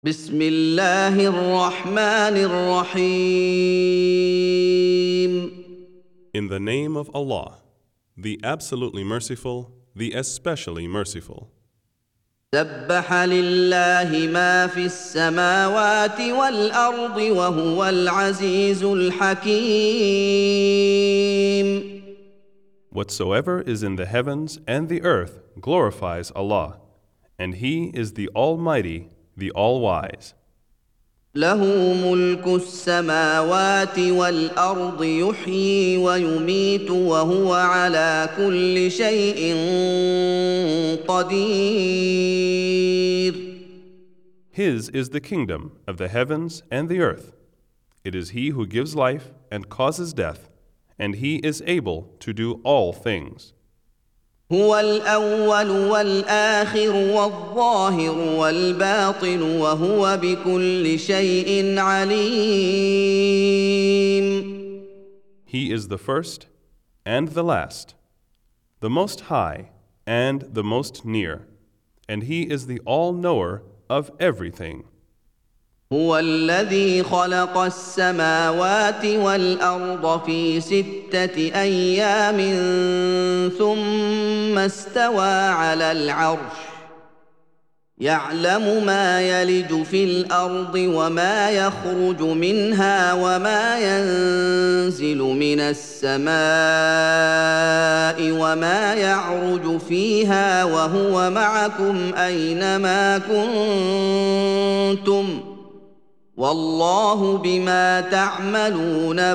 بسم الله الرحمن الرحيم. In the name of Allah, the absolutely merciful, the especially merciful. سبح لله ما في السماوات والأرض وهو العزيز الحكيم. Whatsoever is in the heavens and the earth glorifies Allah, and He is the Almighty, the All-Wise. له ملك السماوات والأرض يحيي ويميت وهو على كل شيء قدير. His is the kingdom of the heavens and the earth. It is He who gives life and causes death, and He is able to do all things. هو الأول والآخر والظاهر والباطن وهو بكل شيء عليم. He is the first and the last, the most high and the most near, and He is the all-knower of everything. هو الذي خلق السماوات والأرض في 6 أيام ثم استوى على العرش يعلم ما يلج في الأرض وما يخرج منها وما ينزل من السماء وما يعرج فيها وهو معكم أينما كنتم والله بما تعملون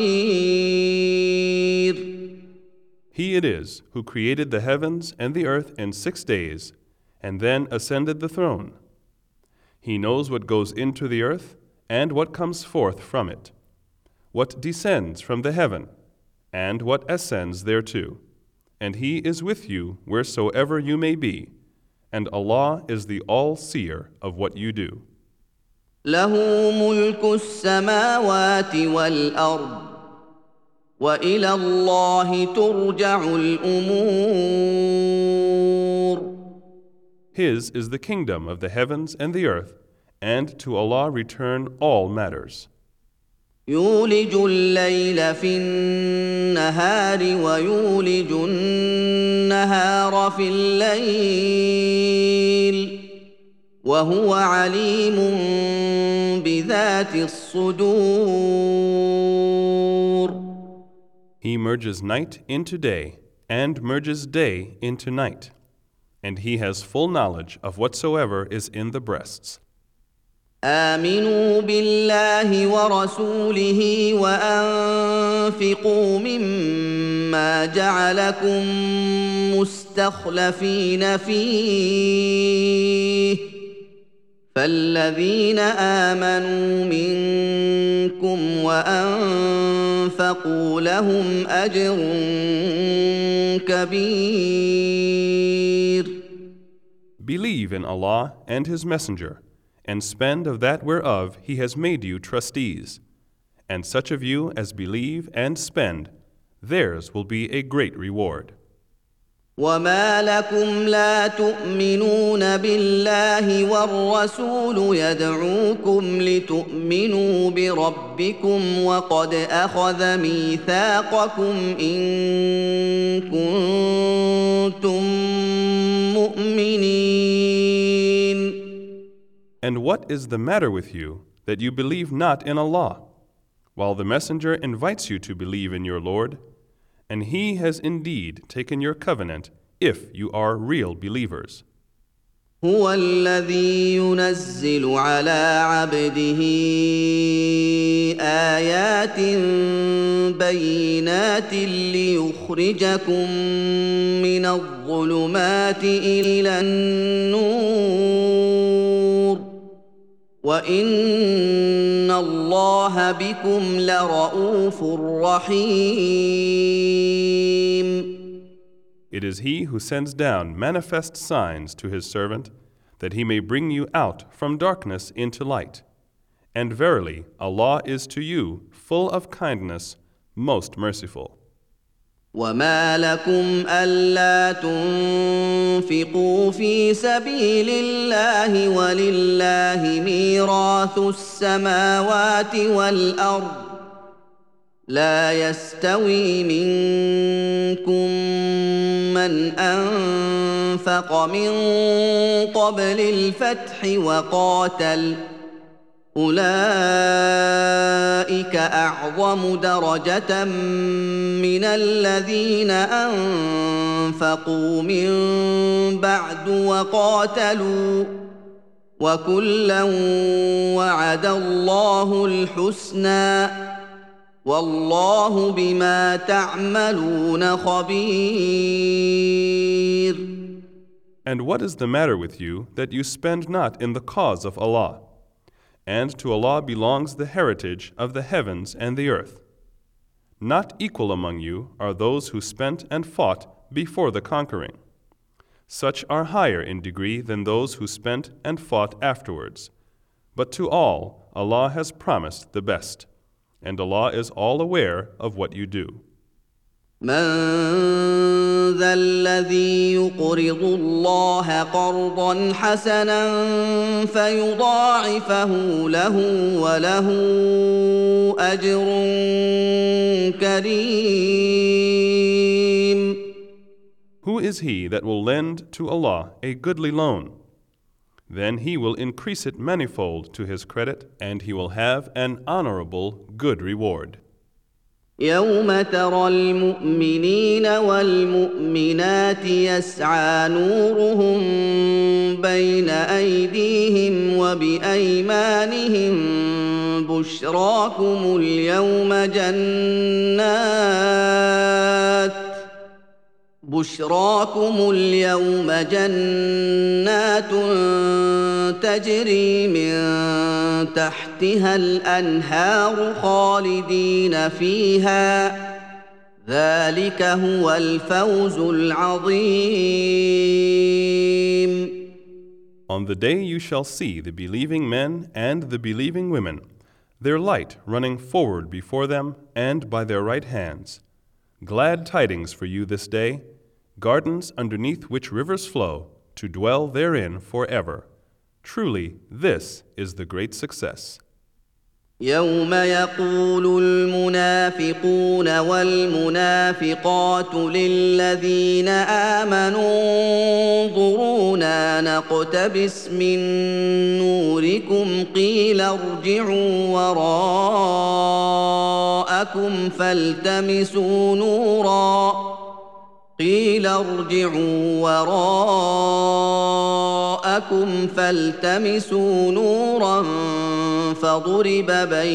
بصير. He it is who created the heavens and the earth in 6 days, and then ascended the throne. He knows what goes into the earth and what comes forth from it, what descends from the heaven, and what ascends thereto. And He is with you wheresoever you may be, and Allah is the all-seer of what you do. له ملك السماوات والأرض وإلى الله ترجع الأمور. His is the kingdom of the heavens and the earth, and to Allah return all matters. يولج الليل في النهار ويولج النهار في الليل وهو عليم بذات الصدور. He merges night into day, and merges day into night, and He has full knowledge of whatsoever is in the breasts. آمنوا بالله ورسوله وأنفقوا مما جعلكم مستخلفين فيه فالذين آمنوا منكم وأنفقوا لهم أجر كبير. Believe in Allah and His Messenger, and spend of that whereof He has made you trustees. And such of you as believe and spend, theirs will be a great reward. وما لكم لا تؤمنون بالله والرسول يدعوكم لتؤمنوا بربكم وقد أخذ ميثاقكم إن كنتم مؤمنين. And what is the matter with you that you believe not in Allah, while the Messenger invites you to believe in your Lord? And He has indeed taken your covenant if you are real believers. هو الذي ينزل على عبده آيات بينات ليخرجكم من الظلمات إلى النور وإن الله بكم لرءوف رحيم. It is He who sends down manifest signs to His servant, that He may bring you out from darkness into light. And verily, Allah is to you full of kindness, most merciful. وما لكم ألا تنفقوا في سبيل الله ولله ميراث السماوات والأرض لا يستوي منكم من أنفق من قبل الفتح وقاتل أولئك أعظم درجة من الذين أنفقوا من بعد وقاتلوا وكلا وعد الله الحسنى والله بما تعملون خبير. And what is the matter with you that you spend not in the cause of Allah? And to Allah belongs the heritage of the heavens and the earth. Not equal among you are those who spent and fought before the conquering. Such are higher in degree than those who spent and fought afterwards. But to all, Allah has promised the best, and Allah is all aware of what you do. من ذا الذي يقرض الله قرضا حسنا فيضاعفه له وله أجر كريم. Who is he that will lend to Allah a goodly loan? Then he will increase it manifold to his credit, and he will have an honorable good reward. يوم ترى المؤمنين والمؤمنات يسعى نورهم بين أيديهم وبأيمانهم بشراكم اليوم جنات تجري من تحتها الأنهار خالدين فيها ذلك هو الفوز العظيم. On the day you shall see the believing men and the believing women, their light running forward before them and by their right hands. Glad tidings for you this day, gardens underneath which rivers flow, to dwell therein forever. Truly, this is the great success. يوم يقول المنافقون والمنافقات للذين آمنوا انظرونا نقتبس من نوركم قيل ارجعوا وراءكم فالتمسوا نورا فضرب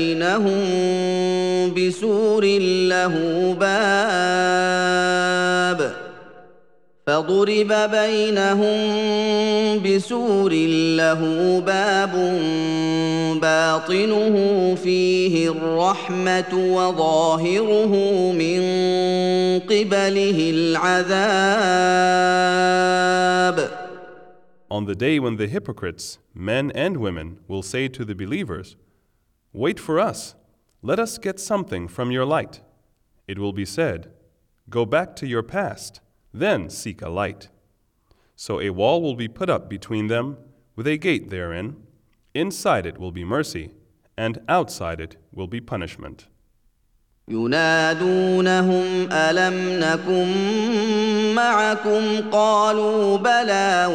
بينهم بسور له باب باطنه فيه الرحمة وظاهره من قبله العذاب. On the day when the hypocrites, men and women, will say to the believers, "Wait for us, let us get something from your light." It will be said, "Go back to your past, then seek a light." So a wall will be put up between them, with a gate therein. Inside it will be mercy, and outside it will be punishment. ينادونهم ألم نكن معكم قالوا بلى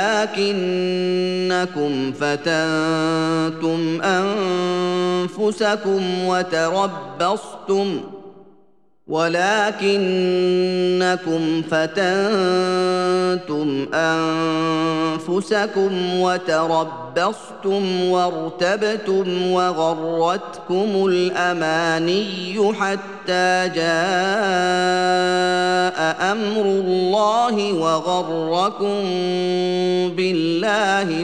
ولكنكم فتنتم أنفسكم وتربصتم وارتبتم وغرتكم الأماني حتى جاء أمر الله وغركم بالله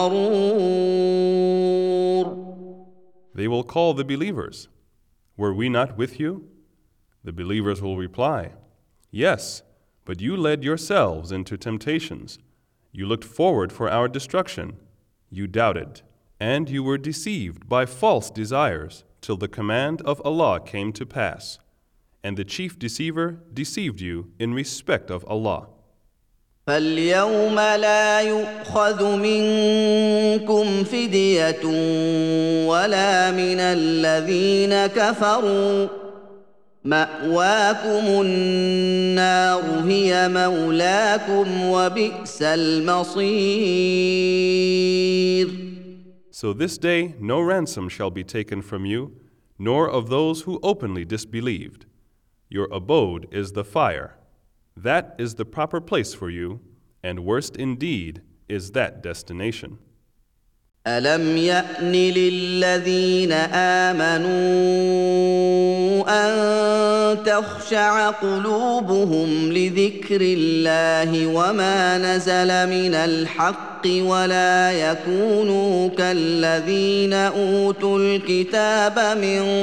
الغرور. They will call the believers, "Were we not with you?" The believers will reply, "Yes, but you led yourselves into temptations. You looked forward for our destruction. You doubted, and you were deceived by false desires till the command of Allah came to pass. and the chief deceiver deceived you in respect of Allah. فاليوم لا يؤخذ منكم فدية ولا من الذين كفروا مأواكم النار هي مولاكم وبئس المصير. So this day no ransom shall be taken from you, nor of those who openly disbelieved. Your abode is the fire. That is the proper place for you, and worst indeed is that destination. ألم يأن للذين آمنوا أن تخشع قلوبهم لذكر الله وما نزل من الحق ولا يكونوا كالذين أوتوا الكتاب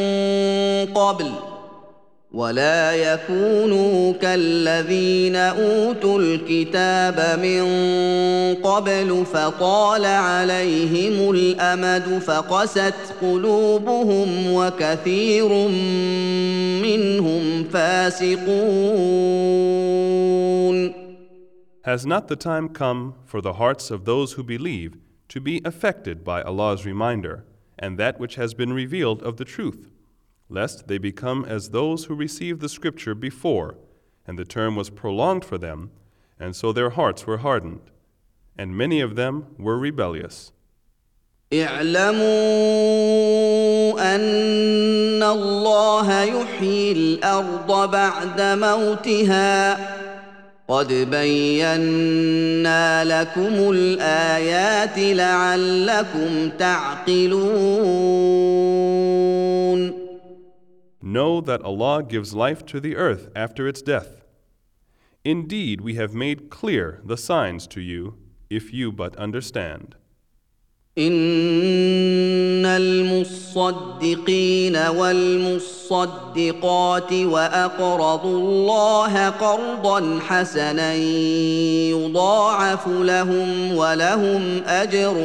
من قبل فطال عليهم الأمد فقست قلوبهم وكثير منهم فاسقون. Has not the time come for the hearts of those who believe to be affected by Allah's reminder and that which has been revealed of the truth, lest they become as those who received the scripture before, and the term was prolonged for them, and so their hearts were hardened, and many of them were rebellious. اعلموا أن الله يحيي الأرض بعد موتها قد بينا لكم الآيات لعلكم تعقلون. Know that Allah gives life to the earth after its death. Indeed, we have made clear the signs to you, if you but understand. إن المصدقين والمصدقات وأقرضوا الله قرضا حسنا يضاعف لهم ولهم أجر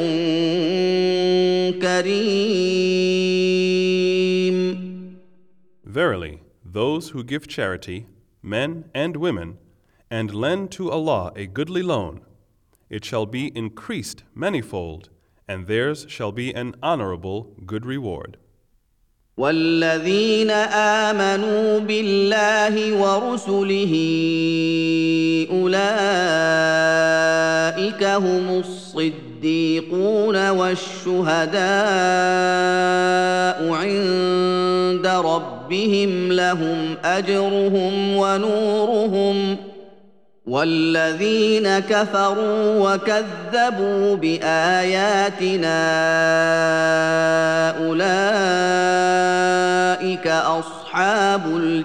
كريم. Verily, those who give charity, men and women, and lend to Allah a goodly loan, it shall be increased manifold, and theirs shall be an honorable good reward. والذين آمنوا بالله ورسله أولئك هم الصديقون والشهداء عند ربهم لهم أجرهم ونورهم والذين كفروا وكذبوا بآياتنا أولئك أصحاب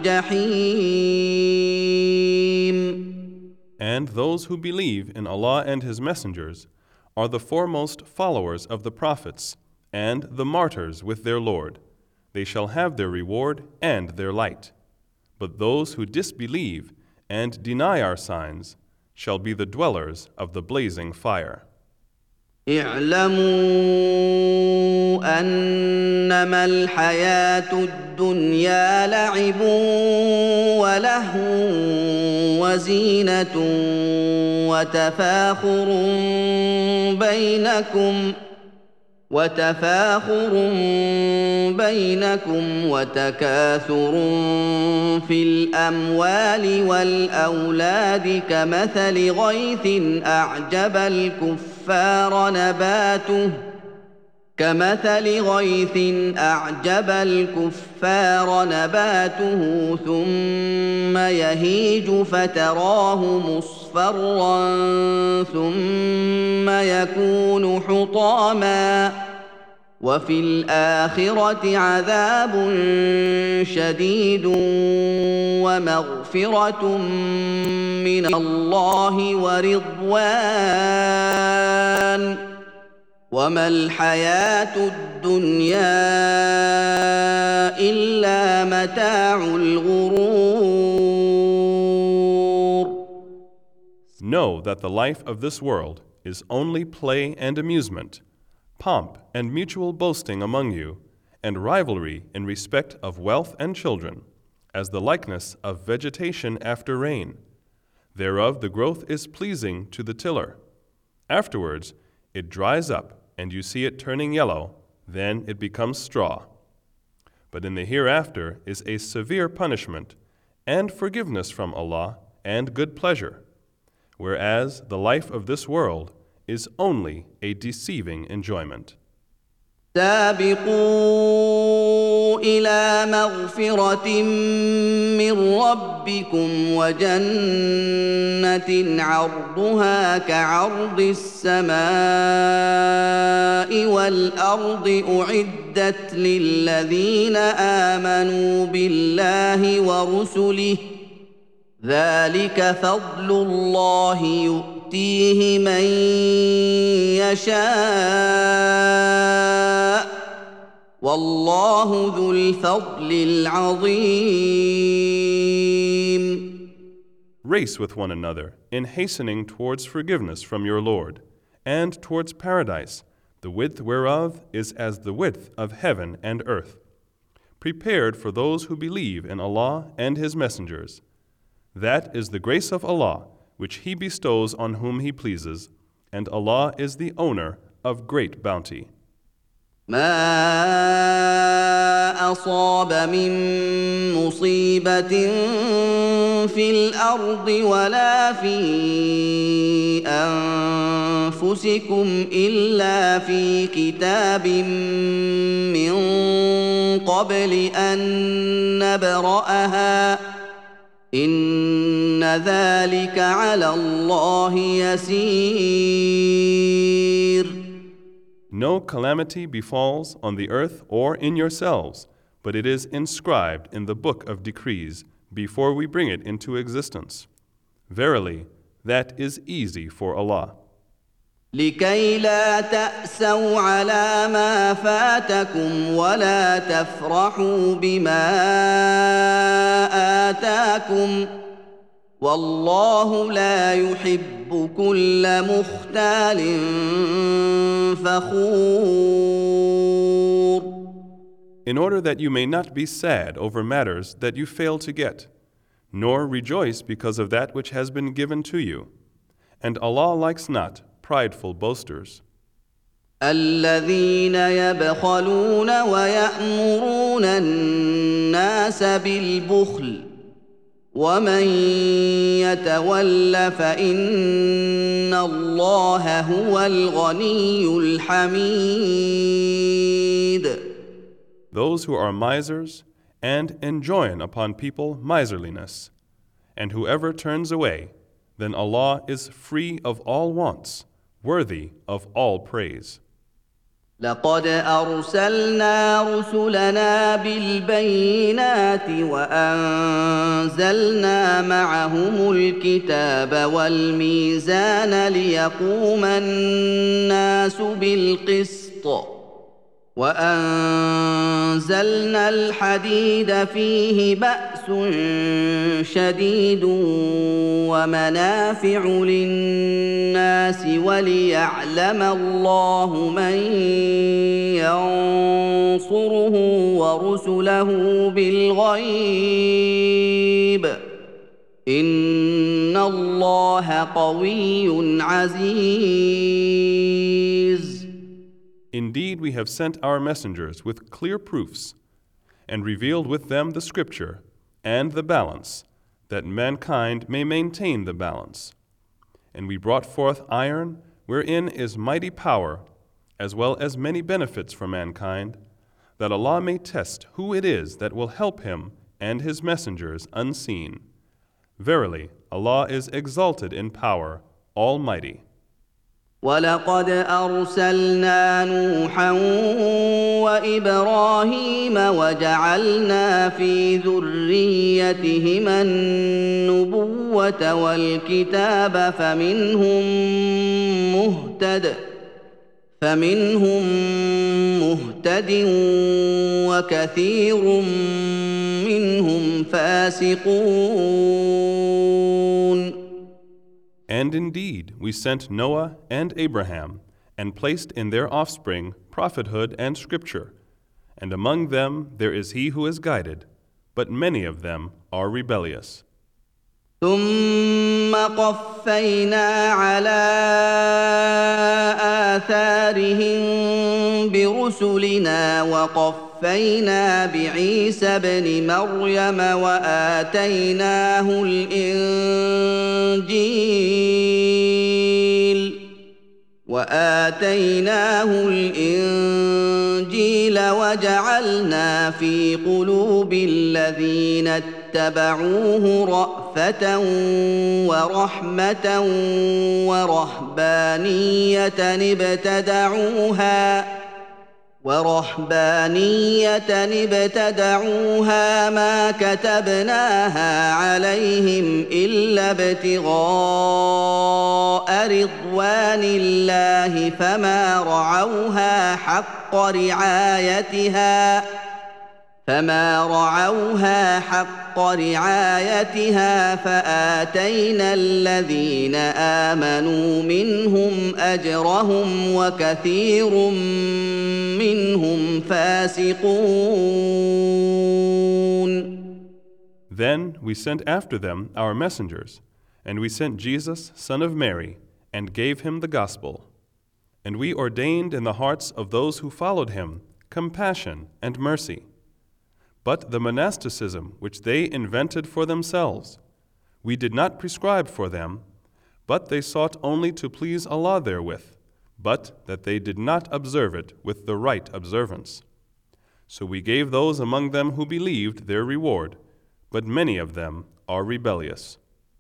الجحيم. And those who believe in Allah and His messengers are the foremost followers of the prophets and the martyrs with their Lord. They shall have their reward and their light. But those who disbelieve and deny our signs shall be the dwellers of the blazing fire. اعلموا أنما الحياة الدنيا لعب ولهو وزينة وتفاخر بينكم وتكاثر في الأموال والأولاد كمثل غيث أعجب الكفار نباته ثم يهيج فتراه مصفرا ثم يكون حطاما وفي الآخرة عذاب شديد ومغفرة من الله ورضوان وما الحياة الدنيا إلا متاع الغرور. Know that the life of this world is only play and amusement, pomp and mutual boasting among you, and rivalry in respect of wealth and children, as the likeness of vegetation after rain. Thereof the growth is pleasing to the tiller. Afterwards it dries up, and you see it turning yellow, then it becomes straw. But in the hereafter is a severe punishment, and forgiveness from Allah, and good pleasure, whereas the life of this world is only a deceiving enjoyment. سابقوا إلى مغفرة من ربكم وجنة عرضها كعرض السماء والأرض أعدت للذين آمنوا بالله ورسله ذلك فضل الله يؤتيه من يشاء والله ذو الفضل العظيم. Race with one another in hastening towards forgiveness from your Lord, and towards paradise, the width whereof is as the width of heaven and earth, prepared for those who believe in Allah and His messengers. That is the grace of Allah, which He bestows on whom He pleases, and Allah is the owner of great bounty. ما أصاب من مصيبة في الأرض ولا في أنفسكم إلا في كتاب من قبل أن نبرأها إن ذلك على الله يسير. No calamity befalls on the earth or in yourselves, but it is inscribed in the book of decrees before we bring it into existence. Verily, that is easy for Allah. لكي لا تأسوا على ما فاتكم ولا تفرحوا بما آتاكم والله لا يحب كل مختال فخور. In order that you may not be sad over matters that you fail to get, nor rejoice because of that which has been given to you. And Allah likes not prideful boasters. الذين يبخلون ويأمرون الناس بالبخل ومن يتول فإن الله هو الغني الحميد. Those who are misers and enjoin upon people miserliness, and whoever turns away, then Allah is free of all wants, worthy of all praise. لقد أرسلنا رسلنا بالبينات وأنزلنا معهم الكتاب والميزان ليقوم الناس بالقسط وأنزلنا الحديد فيه بأس شديد ومنافع للناس وليعلم الله من ينصره ورسله بالغيب إن الله قوي عزيز. Indeed, we have sent our messengers with clear proofs, and revealed with them the scripture and the balance, that mankind may maintain the balance. And we brought forth iron, wherein is mighty power, as well as many benefits for mankind, that Allah may test who it is that will help Him and His messengers unseen. Verily, Allah is exalted in power, almighty. ولقد أرسلنا نوحا وإبراهيم وجعلنا في ذريتهما النبوة والكتاب فمنهم مهتد وكثير منهم فاسقون. And indeed, we sent Noah and Abraham, and placed in their offspring prophethood and scripture, and among them there is he who is guided, but many of them are rebellious. ثم قفينا على آثارهم برسلنا وقفينا بعيسى ابن مريم وآتيناه الإنجيل وجعلنا في قلوب الذين اتبعوه رأفة ورحمة ورهبانية ابتدعوها ما كتبناها عليهم إلا ابتغاء رضوان الله فما رعوها حق رعايتها فآتينا الذين آمنوا منهم أجرهم وكثير منهم فاسقون. Then we sent after them our messengers, and we sent Jesus, son of Mary, and gave him the gospel. And we ordained in the hearts of those who followed him compassion and mercy. But the monasticism which they invented for themselves, we did not prescribe for them, but they sought only to please Allah therewith, but that they did not observe it with the right observance. So we gave those among them who believed their reward, but many of them are rebellious.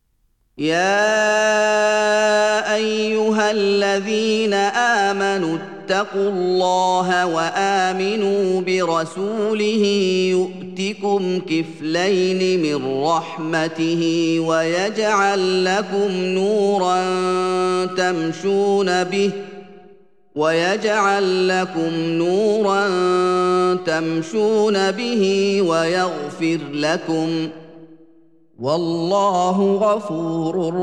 يا أيها الذين آمنوا اتقوا الله وآمنوا برسوله يؤتكم كفلين من رحمته ويجعل لكم نورا تمشون به ويغفر لكم والله غفور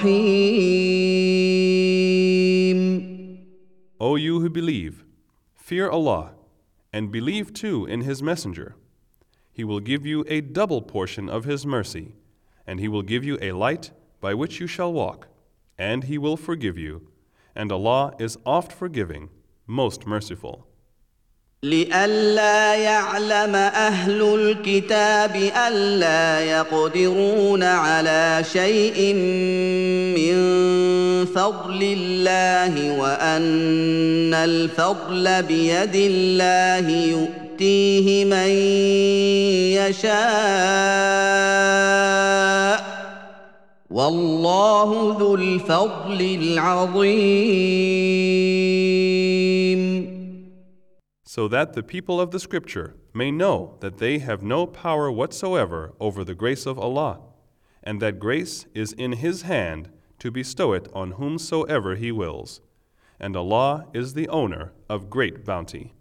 رحيم. O you who believe, fear Allah, and believe too in His Messenger. He will give you a double portion of His mercy, and He will give you a light by which you shall walk, and He will forgive you, and Allah is oft forgiving, most merciful. لئلا يعلم أهل الكتاب ألا يقدرون على شيء من فضل الله وأن الفضل بيد الله يؤتيه من يشاء والله ذو الفضل العظيم. So that the people of the Scripture may know that they have no power whatsoever over the grace of Allah, and that grace is in His hand to bestow it on whomsoever He wills, and Allah is the owner of great bounty.